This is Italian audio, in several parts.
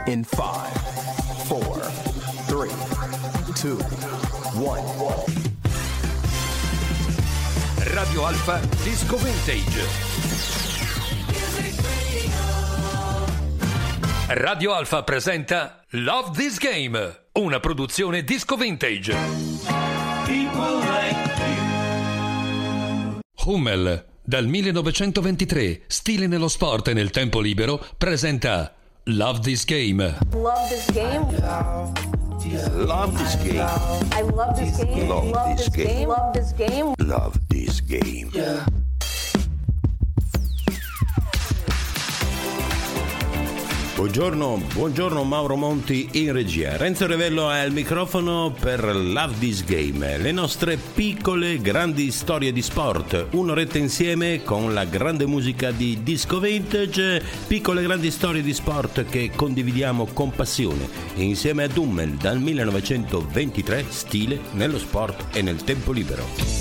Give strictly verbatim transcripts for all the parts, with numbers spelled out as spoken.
In five, four, three, two, one. Radio Alfa Disco Vintage. Radio Alfa presenta Love This Game, una produzione Disco Vintage. Hummel, dal millenovecentoventitré, stile nello sport e nel tempo libero, presenta Love This Game. Love this game. Love this game. I love this game. Love this game. Love this game. Love this game. Yeah. Buongiorno, buongiorno Mauro Monti in regia. Renzo Revello è al microfono per Love This Game, le nostre piccole grandi storie di sport. Un'oretta insieme con la grande musica di Disco Vintage, piccole grandi storie di sport che condividiamo con passione. Insieme a Hummel dal millenovecentoventitré, stile nello sport e nel tempo libero.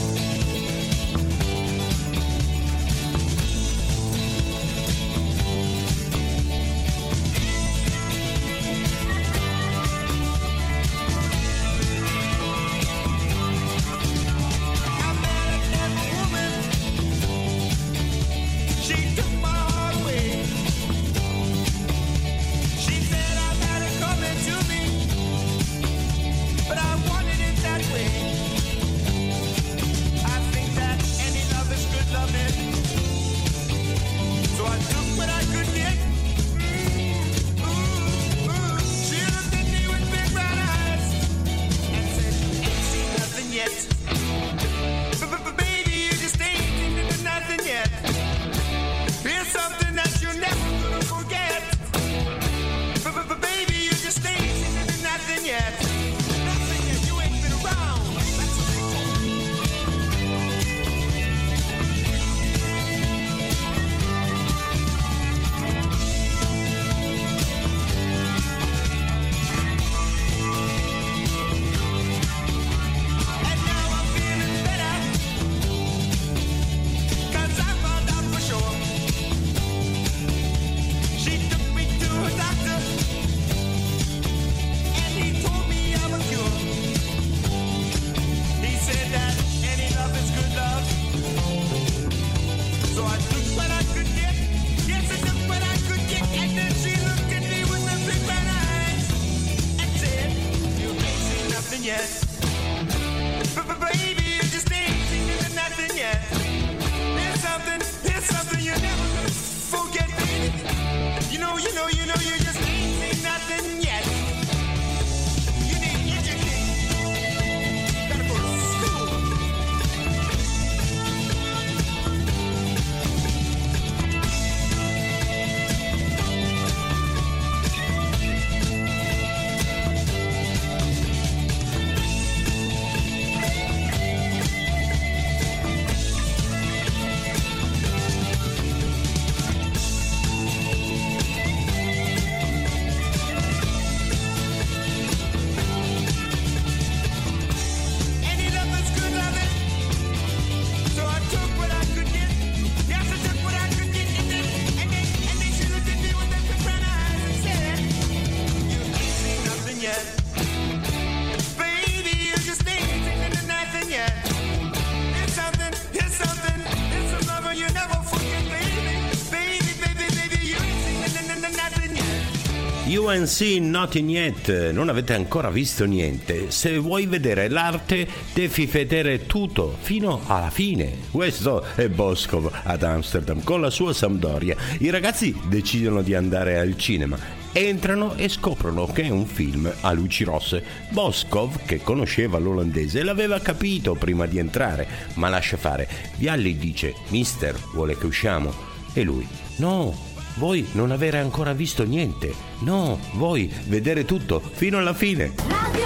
U N C Nothing Yet, non avete ancora visto niente. Se vuoi vedere l'arte devi vedere tutto fino alla fine. Questo è Boskov ad Amsterdam con la sua Sampdoria. I ragazzi decidono di andare al cinema, entrano e scoprono che è un film a luci rosse. Boskov, che conosceva l'olandese, l'aveva capito prima di entrare, ma lascia fare. Vialli dice: mister, vuole che usciamo? E lui: no, voi non avere ancora visto niente. No, voi vedere tutto fino alla fine. Radio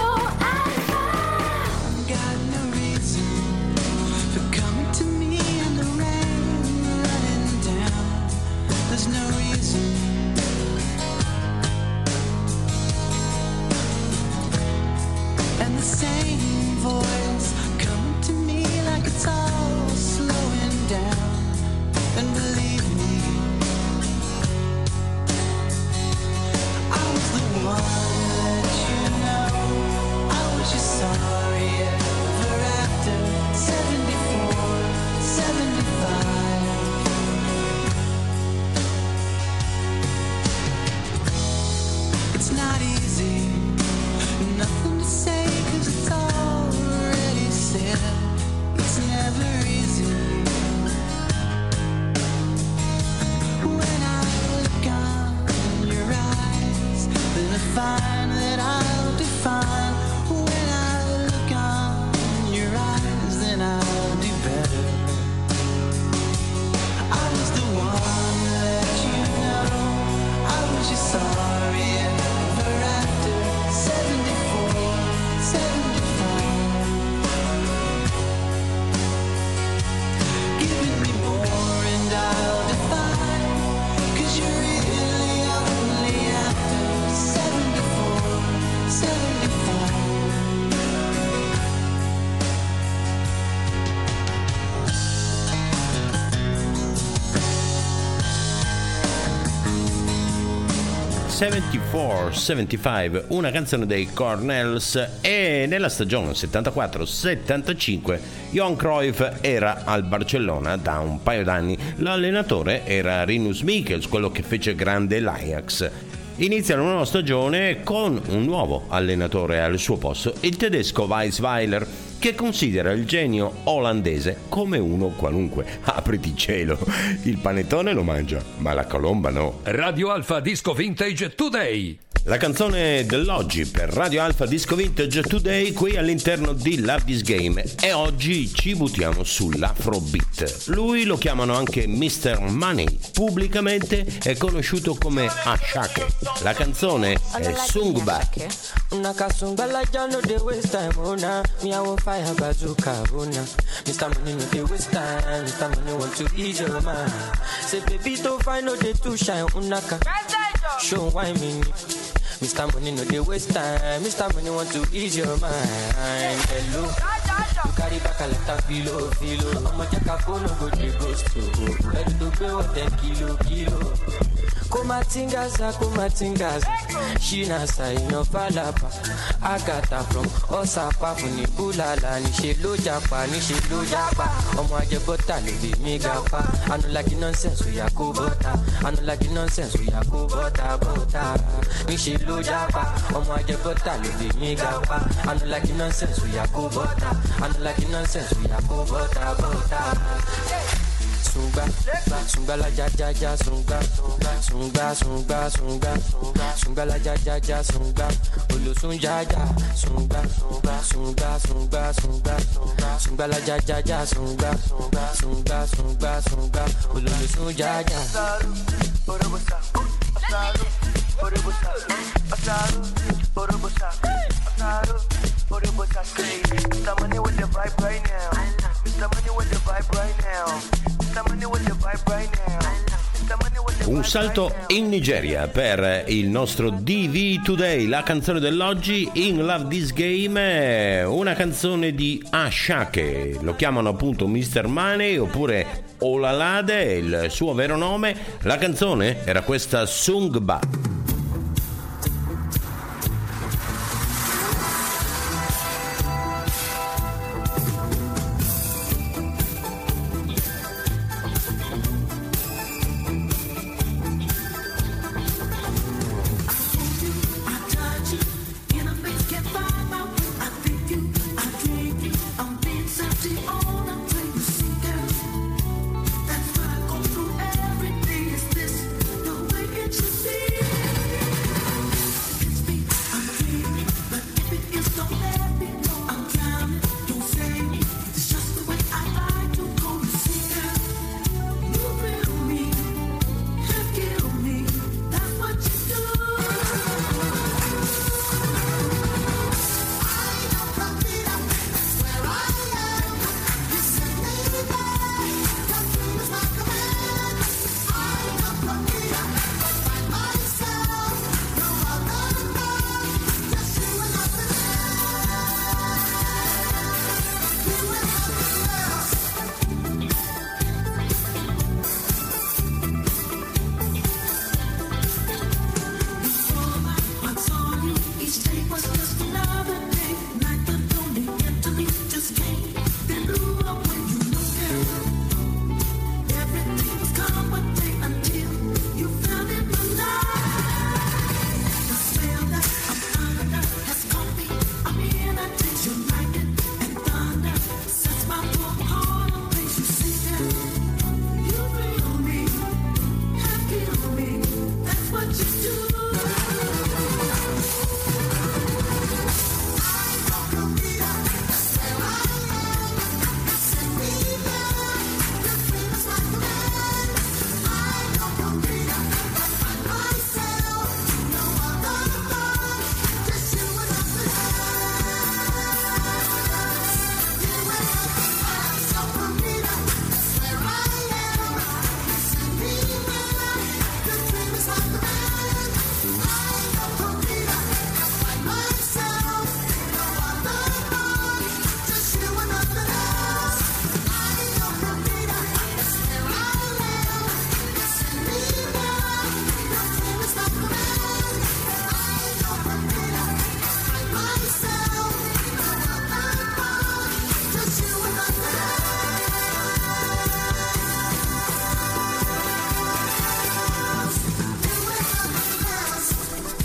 And believe me, I define, that I'll define. When I look on your eyes, then I'll do better. I was the one to let you know I was just sorry ever after seventy-four, seventy-five. Giving me more and I'll define, 'cause you're really only after seventy-four, seventy-five. settantaquattro settantacinque, una canzone dei Cornells, e nella stagione settantaquattro settantacinque Johan Cruyff era al Barcellona da un paio d'anni. L'allenatore era Rinus Michels, quello che fece grande l'Ajax. Inizia una nuova stagione con un nuovo allenatore al suo posto, il tedesco Weisweiler, che considera il genio olandese come uno qualunque. Apriti cielo, il panettone lo mangia, ma la colomba no. Radio Alfa Disco Vintage Today. La canzone dell'oggi per Radio Alfa Disco Vintage Today qui all'interno di Love This Game, e oggi ci buttiamo sull'Afrobeat. Lui lo chiamano anche mister Money, pubblicamente è conosciuto come Ashake. La canzone è Sungba. Una kasungala jano de waste time ona me I will fire bazooka ona mister Money no dey waste time, mister Money want to ease your mind. Say baby to find no dey too shine unaka show why me mister Money no dey waste time, mister Money want to ease your mind. Hello, you carry back a lot of filo filo. I'ma check a phone no go dey ghost to. Ready to pay what ten kilo kilo. Kumatingaza, kumatingaza, shinasa inofalapa. Agata from Osapa funi bulala, nishe lo japa, nishe lo japa. Omo aje bota le be mi gapa. I no like the nonsense we ya go bota. I no like the nonsense we ya go bota bota. Nishe lo japa, omo aje bota le be mi gapa. I no like the nonsense we ya go bota. I no like the nonsense we ya go bota bota. Sunga, sunga la ja ja ja sunga, sunga sunga sunga, sunga la ja ja ja sunga, olo sunja ja sunga, sunga sunga sunga sunga, sunga la ja ja ja sunga, sunga sunga sunga, olo sunja ja. Mister Money with the vibe right now. Mister Money with the vibe right now. Mister Money with the vibe right now. Un salto in Nigeria per il nostro D V Today, la canzone dell'oggi in Love This Game, una canzone di Ashake, lo chiamano appunto mister Money oppure Olalade, il suo vero nome. La canzone era questa Sungba. That's why I go through everything. Is this the way it should be?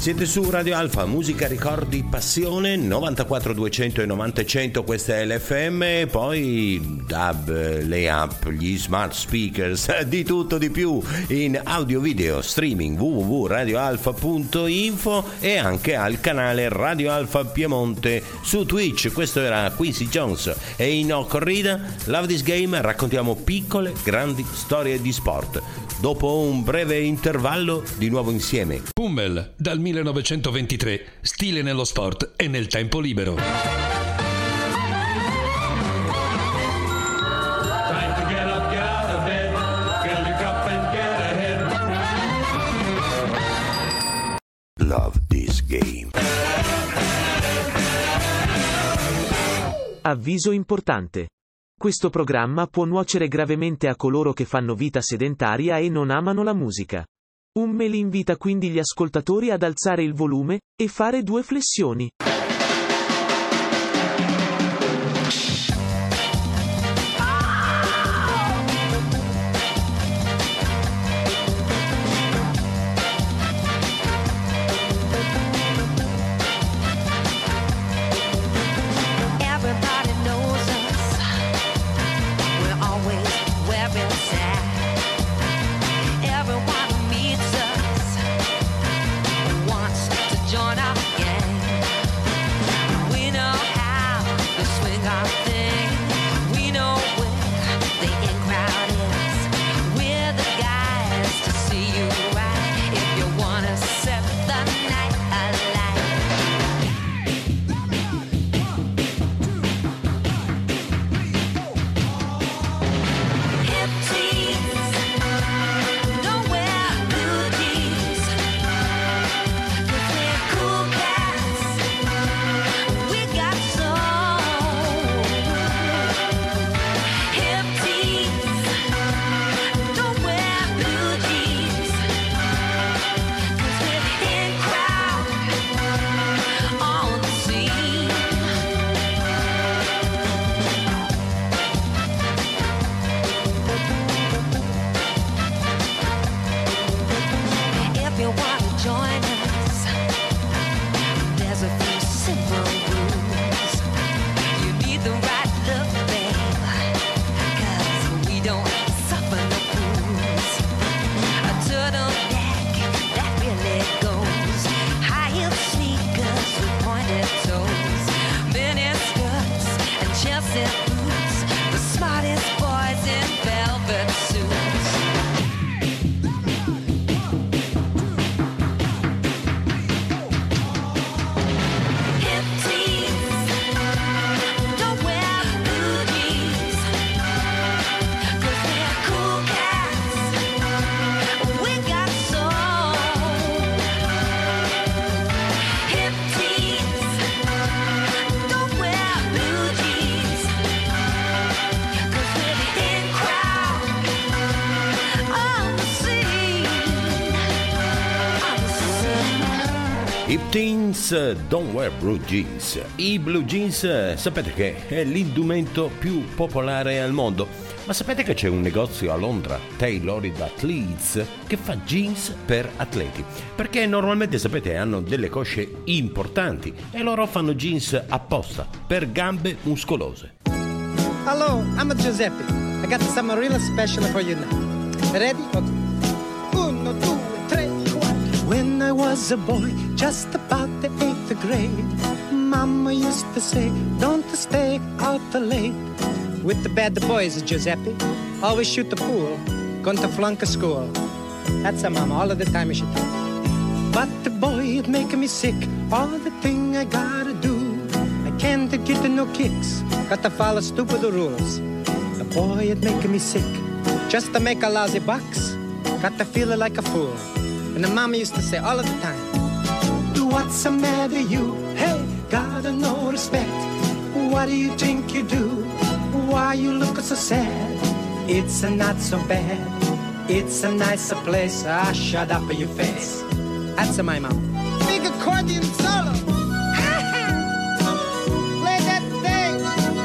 Siete su Radio Alfa, musica, ricordi, passione, novantaquattro duecento e novanta cento, questa è l'F M, poi D A B, le app, gli smart speakers, di tutto di più in audio video, streaming w w w punto radio alfa punto info e anche al canale Radio Alfa Piemonte su Twitch. Questo era Quincy Jones e in No Corrida, Love This Game, raccontiamo piccole, grandi storie di sport. Dopo un breve intervallo, di nuovo insieme. Hummel, dal millenovecentoventitré, stile nello sport e nel tempo libero. Love This Game. Avviso importante. Questo programma può nuocere gravemente a coloro che fanno vita sedentaria e non amano la musica. Hummel invita quindi gli ascoltatori ad alzare il volume e fare due flessioni. Hip Teens Don't Wear Blue Jeans. I blue jeans sapete che è l'indumento più popolare al mondo, ma sapete che c'è un negozio a Londra, Tailored Athletes, che fa jeans per atleti, perché normalmente sapete hanno delle cosce importanti e loro fanno jeans apposta per gambe muscolose. Hello, I'm Giuseppe. I got something real special for you now. Ready? Okay. Uno, due, tre, quattro. When I was a boy, just about the eighth grade, Mama used to say, don't stay out late with the bad boys, Giuseppe. Always shoot the pool, going to flunk a school. That's a mama, all of the time she told. But the boy, it make me sick, all the thing I gotta do. I can't get no kicks, got to follow stupid rules. The boy, it make me sick, just to make a lousy bucks, got to feel like a fool. And the mama used to say all of the time, what's the matter you? Hey, gotta no respect. What do you think you do? Why you look so sad? It's a not so bad. It's a nicer place. Ah, shut up your face. That's my mom. Big accordion solo. Play that thing.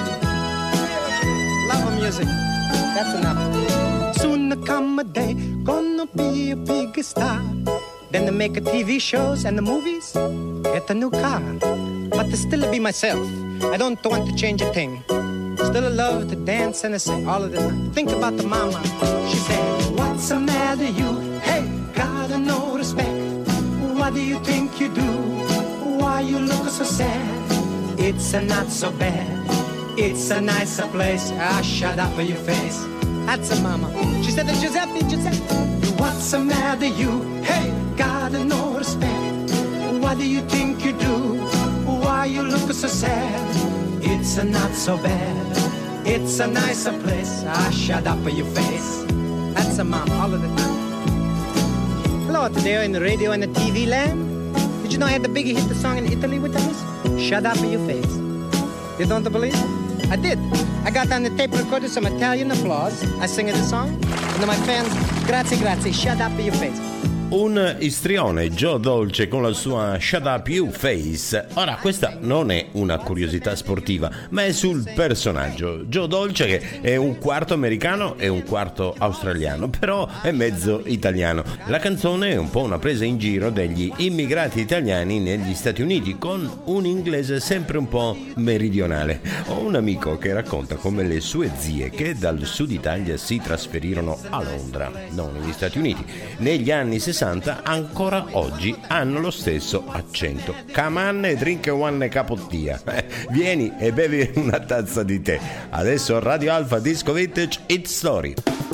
Love music. That's enough. Soon come a day, gonna be a big star. Then they make a T V shows and the movies, get a new car. But to still be myself, I don't want to change a thing. Still love to dance and to sing all of the time. Think about the mama. She said, what's the matter you? Hey, gotta no respect. What do you think you do? Why you look so sad? It's a not so bad. It's a nicer place. Ah, shut up your face. That's a mama. She said, Giuseppe, Giuseppe. What's the matter you? Hey, gotta no respect. What do you think you do? Why you look so sad? It's a not so bad. It's a nicer place. Ah, shut up your face. That's a mom all of the time. Hello, today in the radio and the T V land. Did you know I had the big hit the song in Italy with us? Shut up your face. You don't believe it? I did. I got on the tape recorder some Italian applause. I sing the song. And then my fans, grazie, grazie, shut up your face. Un istrione, Joe Dolce, con la sua Shut Up You Face. Ora, questa non è una curiosità sportiva, ma è sul personaggio. Joe Dolce, che è un quarto americano e un quarto australiano, però è mezzo italiano. La canzone è un po' una presa in giro degli immigrati italiani negli Stati Uniti, con un inglese sempre un po' meridionale. Ho un amico che racconta come le sue zie, che dal sud Italia si trasferirono a Londra, non negli Stati Uniti, negli anni sessanta, ancora oggi hanno lo stesso accento. Come on e drink one capottia. Eh, vieni e bevi una tazza di tè. Adesso Radio Alfa Disco Vintage Hit Story.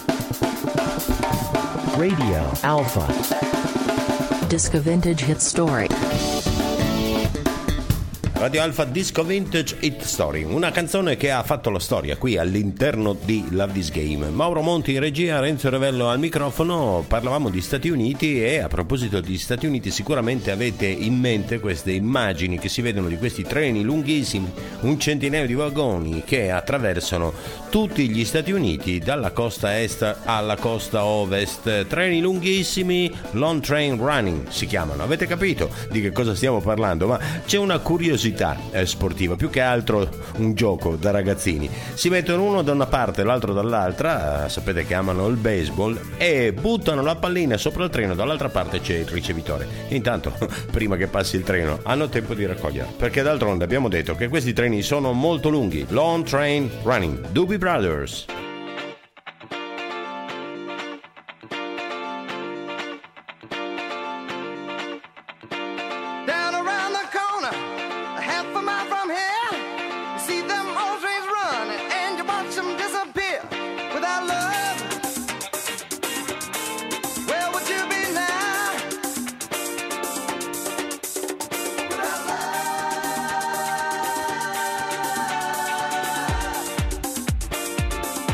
Radio Alpha Disco Vintage Hit Story. Radio Alfa Disco Vintage Hit Story, una canzone che ha fatto la storia qui all'interno di Love This Game. Mauro Monti in regia, Renzo Revello al microfono. Parlavamo di Stati Uniti e a proposito di Stati Uniti sicuramente avete in mente queste immagini che si vedono di questi treni lunghissimi, un centinaio di vagoni che attraversano tutti gli Stati Uniti dalla costa est alla costa ovest. Treni lunghissimi, long train running si chiamano. Avete capito di che cosa stiamo parlando? Ma c'è una curiosità sportiva, più che altro un gioco da ragazzini. Si mettono uno da una parte e l'altro dall'altra, sapete che amano il baseball, e buttano la pallina sopra il treno, dall'altra parte c'è il ricevitore. Intanto, prima che passi il treno, hanno tempo di raccoglierla, perché d'altronde abbiamo detto che questi treni sono molto lunghi. Long Train Running, Doobie Brothers. Without love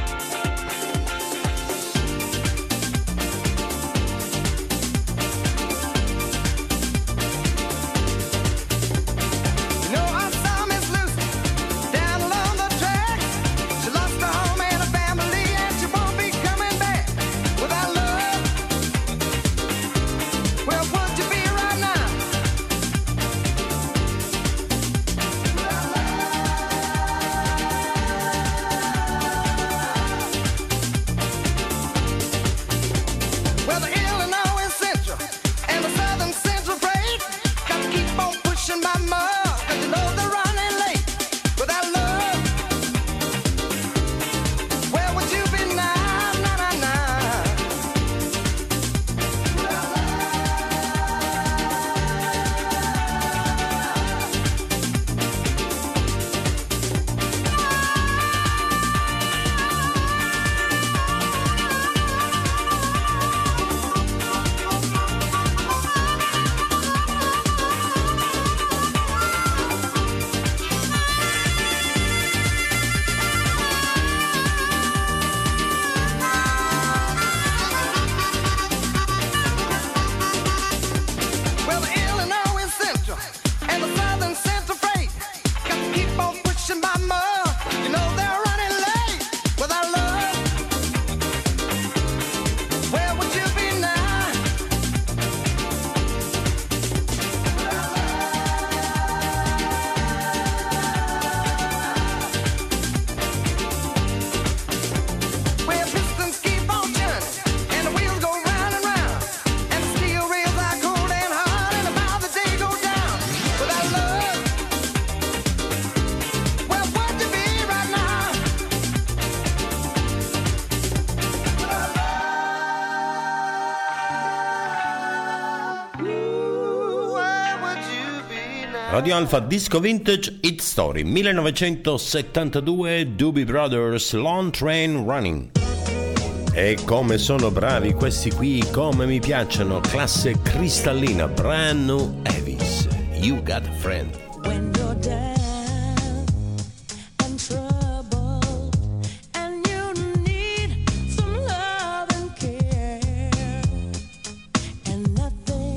Radio Alfa Disco Vintage Hit Story millenovecentosettantadue, Doobie Brothers, Long Train Running. E come sono bravi questi qui, come mi piacciono, classe cristallina, brand new Elvis, You Got a Friend. When you're down and trouble and you need some love and care and nothing,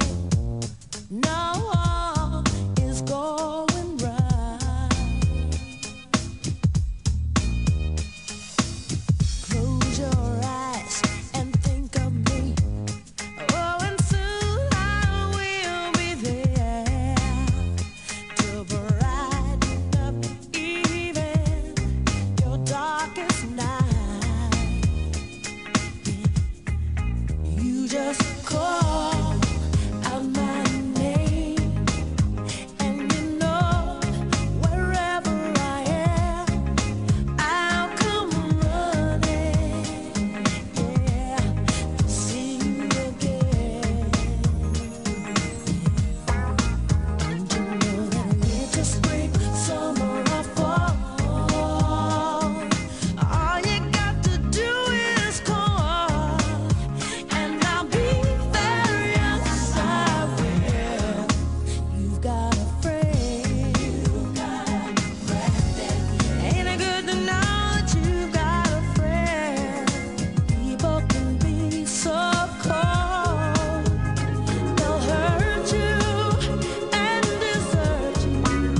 no, is going right. Close your eyes and think of me. Oh, and soon I will be there to brighten up even your darkest night. You just call out my name, and you know wherever I am, I'll come running, yeah, to see you again. Don't you know that winter, spring, summer, or fall, all you got to do is call, and I'll be there, yes I will. You've got a friend. You've got a friend. Ain't it good to know that you've got a friend? People can be so cold. They'll hurt you and desert you.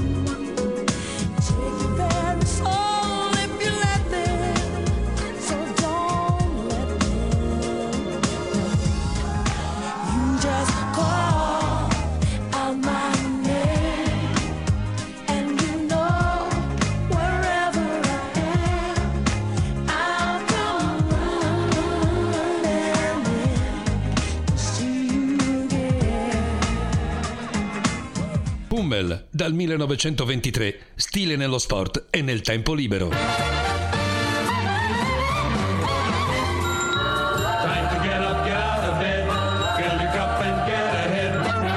Take your very soul if you let them. So don't let them. You just call out my name, and you know wherever I am, I'll come running to see you again. Hummel, dal millenovecentoventitré, stile nello sport e nel tempo libero. Time to get up, get out of bed, fill your cup and get ahead.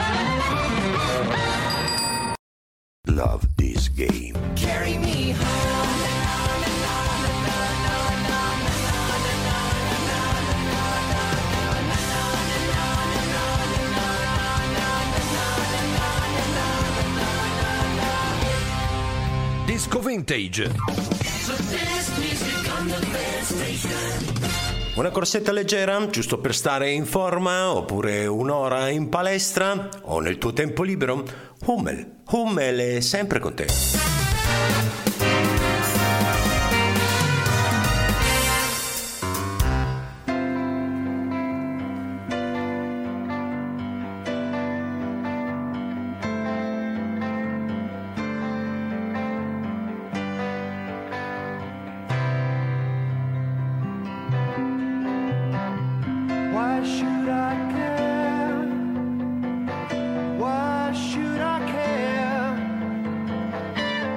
Love this game. Carry me Disco Vintage. Una corsetta leggera, giusto per stare in forma, oppure un'ora in palestra, o nel tuo tempo libero? Hummel, Hummel è sempre con te. Why should I care? Why should I care?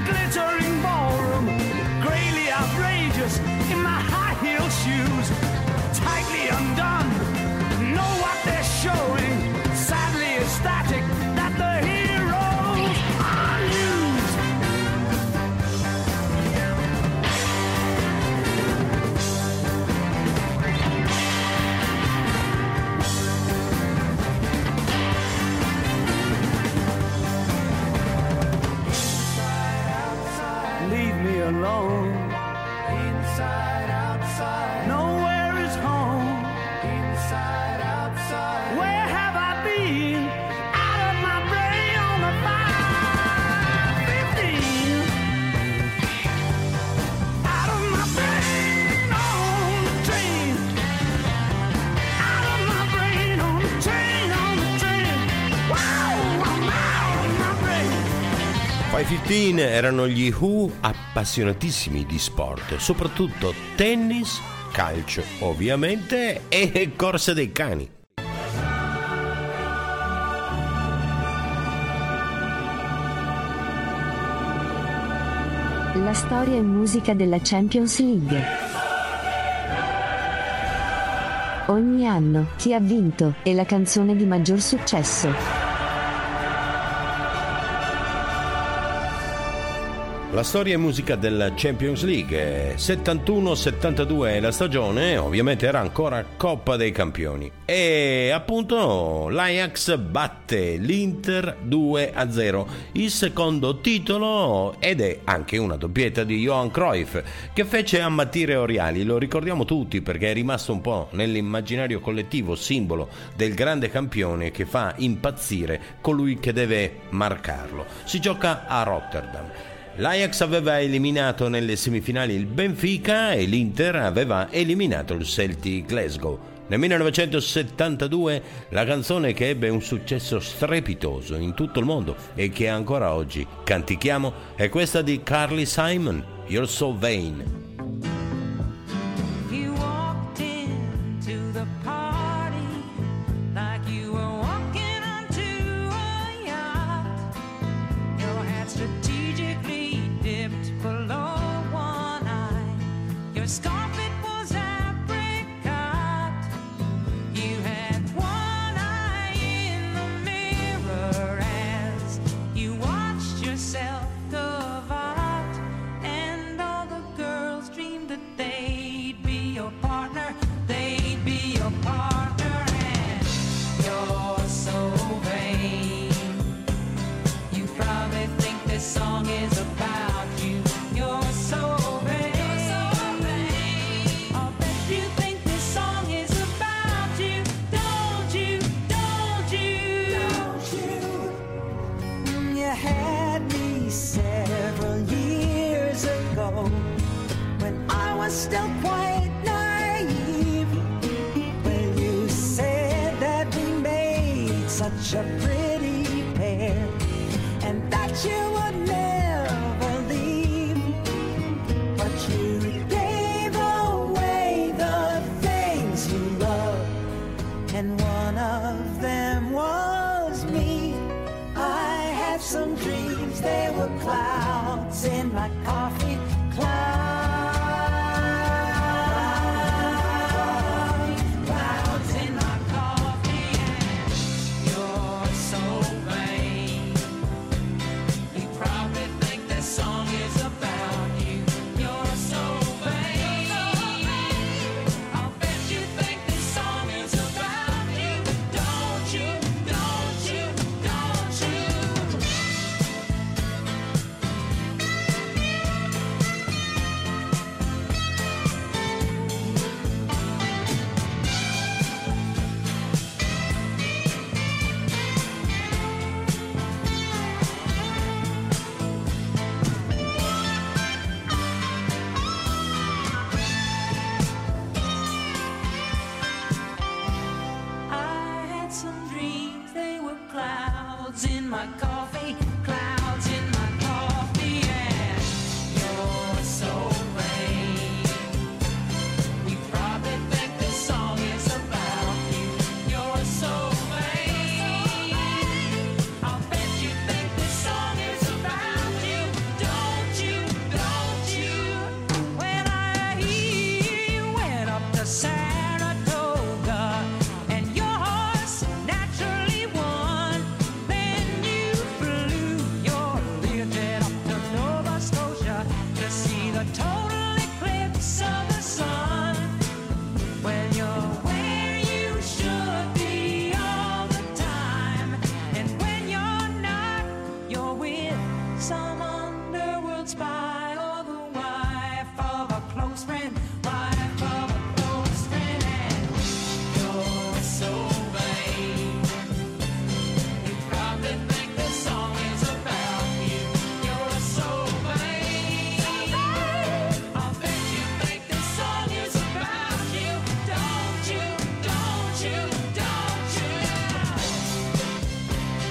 glittering ballroom, grayly outrageous in my high heel shoes, tightly undone, know what they're showing, sadly ecstatic that the heroes are used. Leave me alone. Inside, outside. Nowhere is home. Inside, outside. Where have I been? Out of my brain on the five fifteen. Out of my brain on the train. Out of my brain on the train, on the train. Wow, I'm out of my brain. five fifteen erano gli Who, appassionatissimi di sport, soprattutto tennis, calcio ovviamente e corse dei cani. La storia e musica della Champions League. Ogni anno, chi ha vinto, e la canzone di maggior successo. La storia e musica della Champions League. settantuno settantadue è la stagione, ovviamente era ancora Coppa dei Campioni. E appunto l'Ajax batte l'Inter due a zero, il secondo titolo, ed è anche una doppietta di Johan Cruyff che fece ammattire Oriali. Lo ricordiamo tutti perché è rimasto un po' nell'immaginario collettivo simbolo del grande campione che fa impazzire colui che deve marcarlo. Si gioca a Rotterdam. L'Ajax aveva eliminato nelle semifinali il Benfica e l'Inter aveva eliminato il Celtic Glasgow. Nel millenovecentosettantadue la canzone che ebbe un successo strepitoso in tutto il mondo e che ancora oggi cantichiamo è questa di Carly Simon, You're So Vain. You walked into the party like you were walking onto a yacht. Your hat strategically dipped below one eye. Your scarf, it was apricot. You had one eye in the mirror as you watched yourself go out, and all the girls dreamed that they'd be your partner, they'd be your partner, and you're so vain. You probably think this song is about you. You're so vain. I'll bet you think this song is about you. Don't you? Don't you? Don't you? You had me several years ago when I was still quite naive. When you said that we made such a pretty pair and that you would never leave, but you gave away the things you love, and one of them was me. I had some dreams, they were clouds in my coffee cloud. Clouds in my coffee, and you're so vain. You probably think this song is about you. You're so vain. I'll bet you think this song is about you. Don't you? Don't you? Don't you?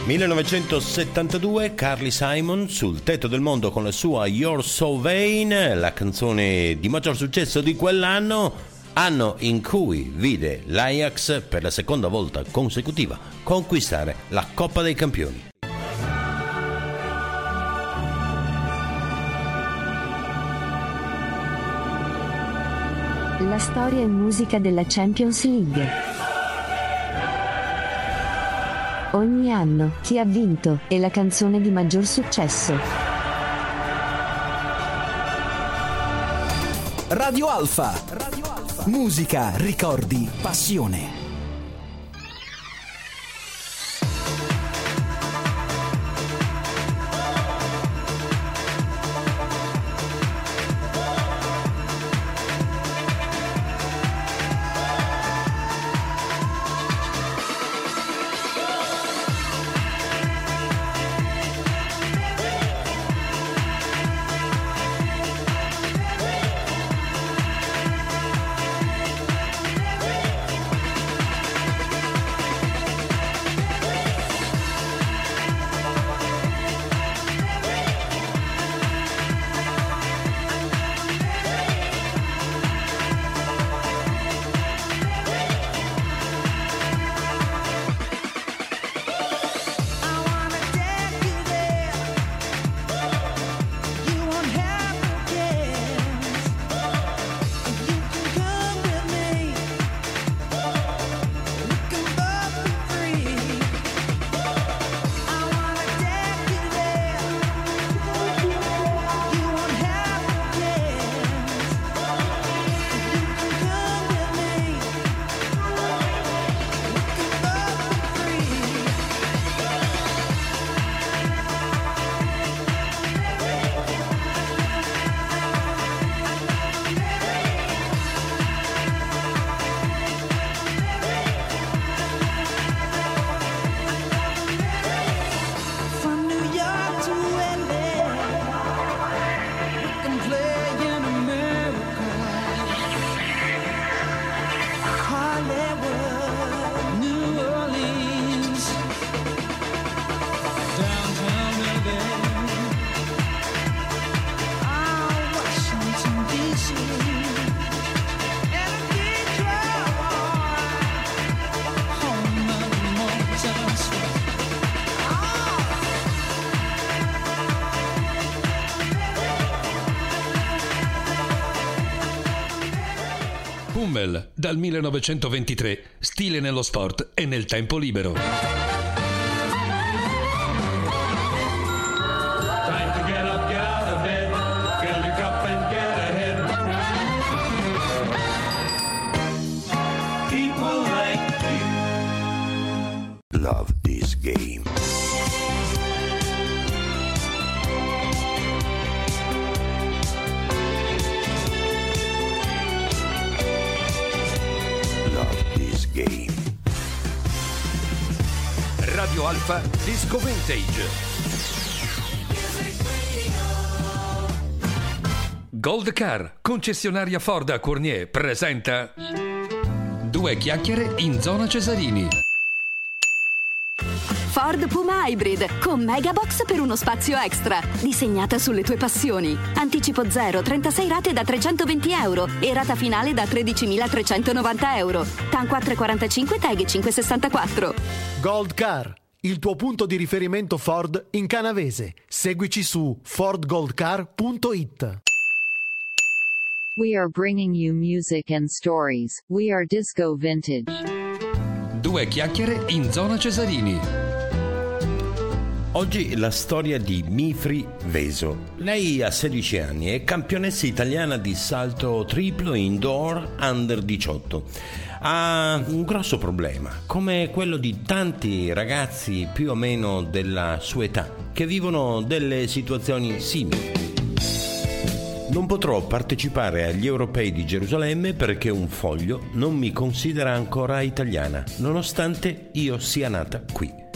millenovecentosettantadue, Carly Simon sul tetto del mondo con la sua You're So Vain, la canzone di maggior successo di quell'anno, anno in cui vide l'Ajax per la seconda volta consecutiva conquistare la Coppa dei Campioni. La storia e musica della Champions League. Ogni anno, chi ha vinto, e la canzone di maggior successo. Radio Alfa. Musica, ricordi, passione. Hummel, dal millenovecentoventitré, stile nello sport e nel tempo libero. Time to get up, get out of bed, fill your cup and get ahead. People like you love this game. Game. Radio Alfa Disco Vintage. Gold Car, concessionaria Ford a Cournier, presenta Due chiacchiere in zona Cesarini. Ford Puma Hybrid con Megabox per uno spazio extra, disegnata sulle tue passioni. Anticipo zero, trentasei rate da trecentoventi euro e rata finale da tredicimilatrecentonovanta euro. T A N quattro virgola quarantacinque, T A G cinque virgola sessantaquattro. Gold Car, il tuo punto di riferimento Ford in Canavese. Seguici su ford gold car punto it. We are bringing you music and stories. We are Disco Vintage. Due chiacchiere in zona Cesarini. Oggi la storia di Mifri Veso. Lei ha sedici anni, è campionessa italiana di salto triplo indoor under diciotto. Ha un grosso problema, come quello di tanti ragazzi più o meno della sua età, che vivono delle situazioni simili. Non potrò partecipare agli europei di Gerusalemme perché un foglio non mi considera ancora italiana, nonostante io sia nata qui.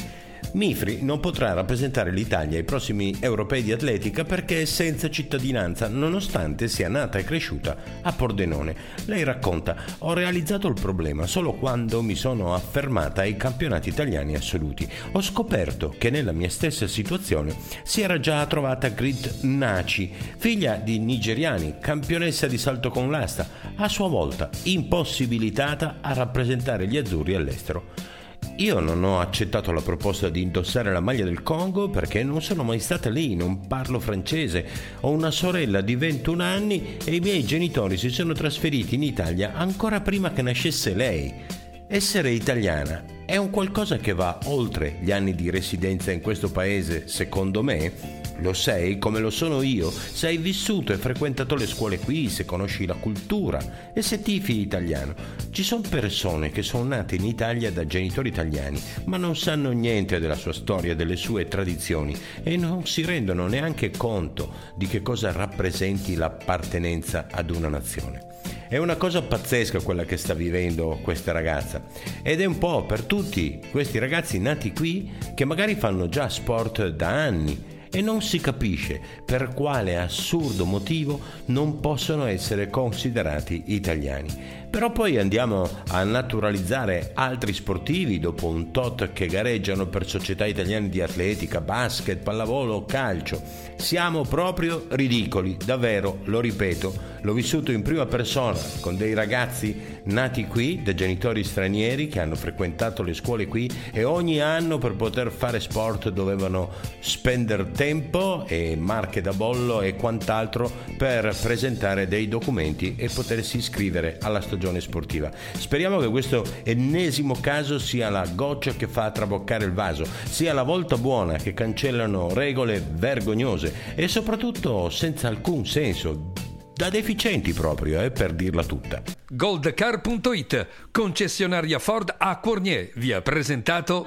Mifri non potrà rappresentare l'Italia ai prossimi europei di atletica perché è senza cittadinanza, nonostante sia nata e cresciuta a Pordenone. Lei racconta: ho realizzato il problema solo quando mi sono affermata ai campionati italiani assoluti. Ho scoperto che nella mia stessa situazione si era già trovata Grit Naci, figlia di nigeriani, campionessa di salto con l'asta, a sua volta impossibilitata a rappresentare gli azzurri all'estero. Io non ho accettato la proposta di indossare la maglia del Congo perché non sono mai stata lì, non parlo francese, ho una sorella di ventuno anni e i miei genitori si sono trasferiti in Italia ancora prima che nascesse lei. Essere italiana è un qualcosa che va oltre gli anni di residenza in questo paese, secondo me. Lo sei come lo sono io, se hai vissuto e frequentato le scuole qui, se conosci la cultura e se tifi italiano. Ci sono persone che sono nate in Italia da genitori italiani, ma non sanno niente della sua storia, delle sue tradizioni e non si rendono neanche conto di che cosa rappresenti l'appartenenza ad una nazione. È una cosa pazzesca quella che sta vivendo questa ragazza ed è un po' per tutti questi ragazzi nati qui che magari fanno già sport da anni e non si capisce per quale assurdo motivo non possono essere considerati italiani. Però poi andiamo a naturalizzare altri sportivi dopo un tot che gareggiano per società italiane di atletica, basket, pallavolo o calcio. Siamo proprio ridicoli, davvero, lo ripeto, l'ho vissuto in prima persona con dei ragazzi nati qui da genitori stranieri che hanno frequentato le scuole qui e ogni anno per poter fare sport dovevano spendere tempo e marche da bollo e quant'altro per presentare dei documenti e potersi iscrivere alla stagione sportiva. Speriamo che questo ennesimo caso sia la goccia che fa traboccare il vaso, sia la volta buona che cancellano regole vergognose e soprattutto senza alcun senso, da deficienti proprio, eh, per dirla tutta. Goldcar punto it, concessionaria Ford a Cournier, vi ha presentato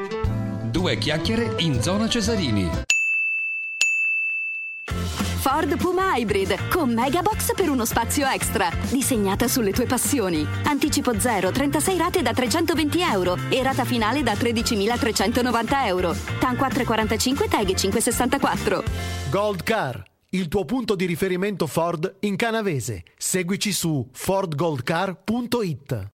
Due chiacchiere in zona Cesarini. Ford Puma Hybrid con Megabox per uno spazio extra, disegnata sulle tue passioni. Anticipo zero, trentasei rate da trecentoventi euro e rata finale da tredicimilatrecentonovanta euro. T A N quattro virgola quarantacinque, T E G cinque virgola sessantaquattro. Gold Car, il tuo punto di riferimento Ford in Canavese. Seguici su ford gold car punto it.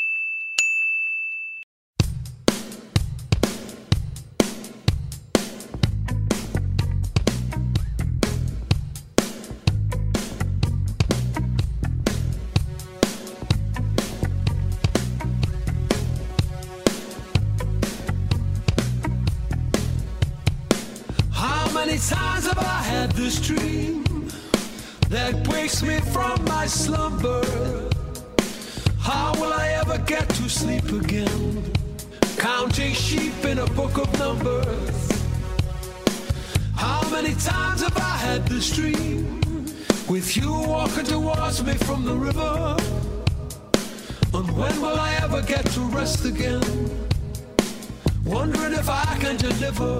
How many times have I had this dream that wakes me from my slumber? How will I ever get to sleep again? Counting sheep in a book of numbers. How many times have I had this dream with you walking towards me from the river? And when will I ever get to rest again? Wondering if I can deliver.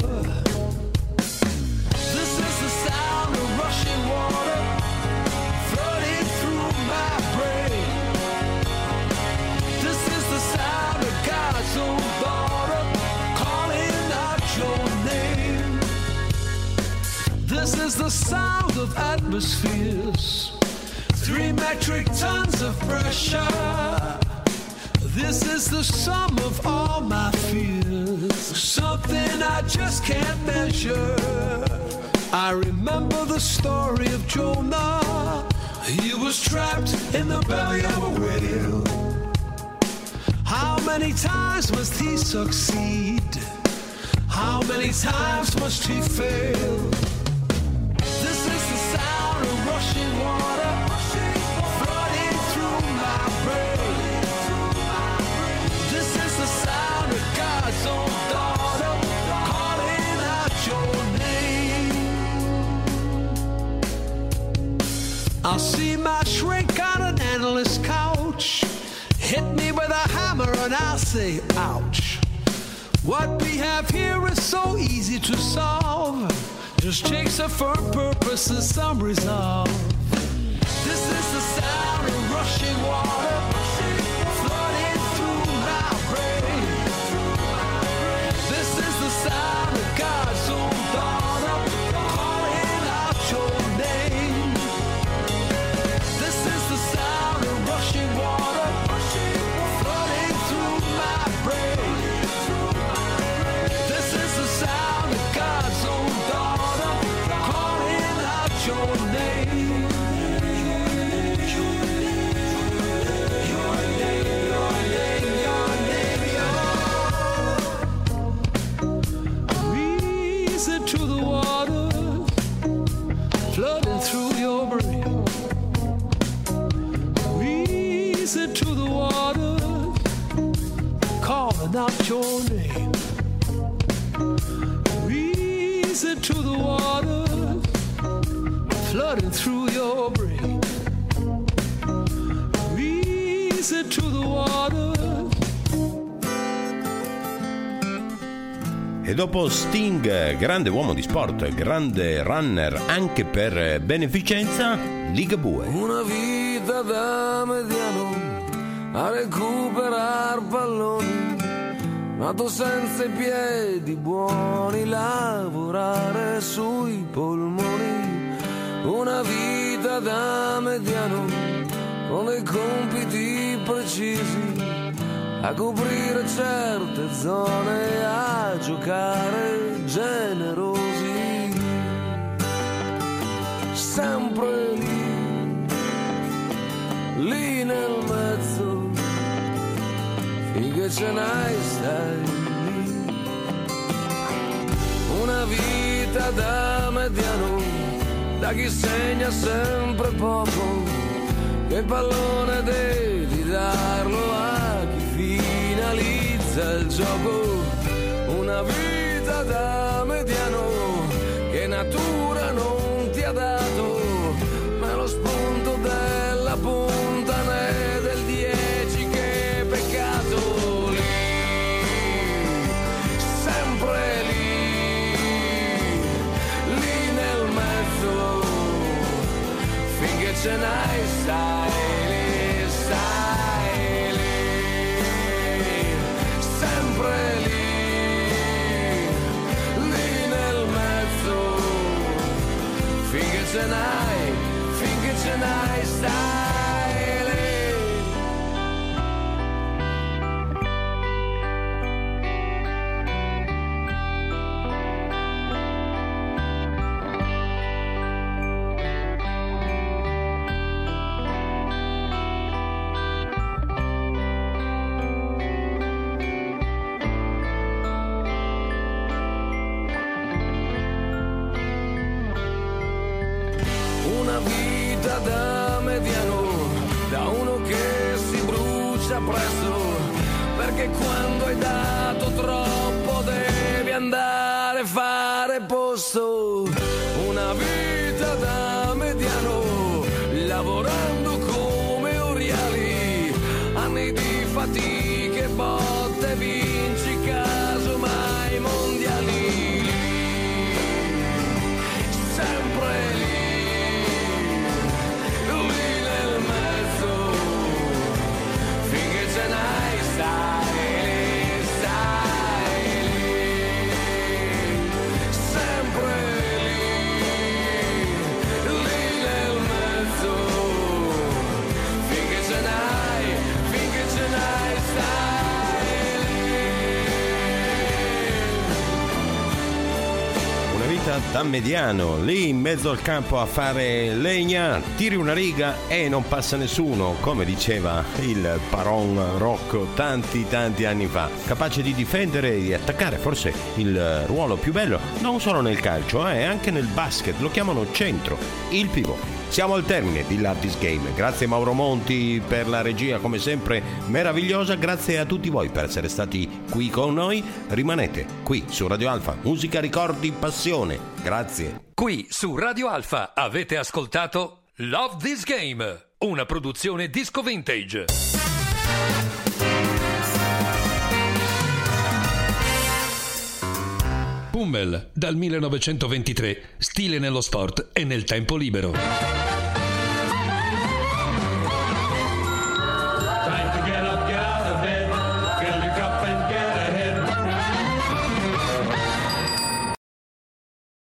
This is the sound of rushing water flooding through my brain. This is the sound of God's own daughter calling out your name. This is the sound of atmospheres, three metric tons of pressure. This is the sum of all my fears, something I just can't measure. I remember the story of Jonah. He was trapped in the belly of a whale. How many times must he succeed? How many times must he fail? This is the sound of rushing water flooding through my brain. This is the sound of God's own daughter calling out your name. I'll see my shrink on an endless couch, hit me with a hammer and I'll say ouch. What we have here is so easy to solve, just takes a firm purpose and some resolve. This is the sound of rushing water flooding through my brain. This is the sound flooding through your brain. Easy to the water, calling out your name. Easy to the water, flooding through your brain. Easy to the water. E dopo Sting, grande uomo di sport, grande runner anche per beneficenza, Ligabue. Una vita da mediano a recuperar palloni, nato senza i piedi buoni, lavorare sui polmoni. Una vita da mediano con dei compiti precisi, a coprire certe zone, a giocare generosi, sempre lì, lì nel mezzo, finché ce n'hai stai lì. Una vita da mediano, da chi segna sempre poco, che pallone devi darlo a chi finalizza il gioco. Una vita da mediano che natura non ti ha dato, ma lo spunto della punta né del dieci che peccato. Lì, sempre lì, lì nel mezzo, finché ce n'hai stai lì, stai lì, sempre lì, lì nel mezzo, finché ce n'hai, finché ce n'hai stai lì. Una vita da mediano, da uno che si brucia presto, perché quando hai dato troppo devi andare a fare posto. Una vita da mediano, lavorando come oriali, anni di fatiche, botte, vinci casomai mondiali. Sempre lì, ce n'hai stai lì, stai lì, sempre lì, lì nel mezzo, finché ce n'hai, finché ce n'hai stai lì. Una vita da mediano, lì in mezzo al campo a fare legna, tiri una riga e non passa nessuno, come diceva il Paron Rocco tanti tanti anni fa, capace di difendere e di attaccare, forse il ruolo più bello, non solo nel calcio, eh, anche nel basket, lo chiamano centro, il pivot. Siamo al termine di Love This Game, grazie Mauro Monti per la regia come sempre meravigliosa, grazie a tutti voi per essere stati qui con noi, rimanete qui su Radio Alfa, musica, ricordi, passione, grazie. Qui su Radio Alfa avete ascoltato Love This Game, una produzione Disco Vintage. Pummel, dal millenovecentoventitré, stile nello sport e nel tempo libero.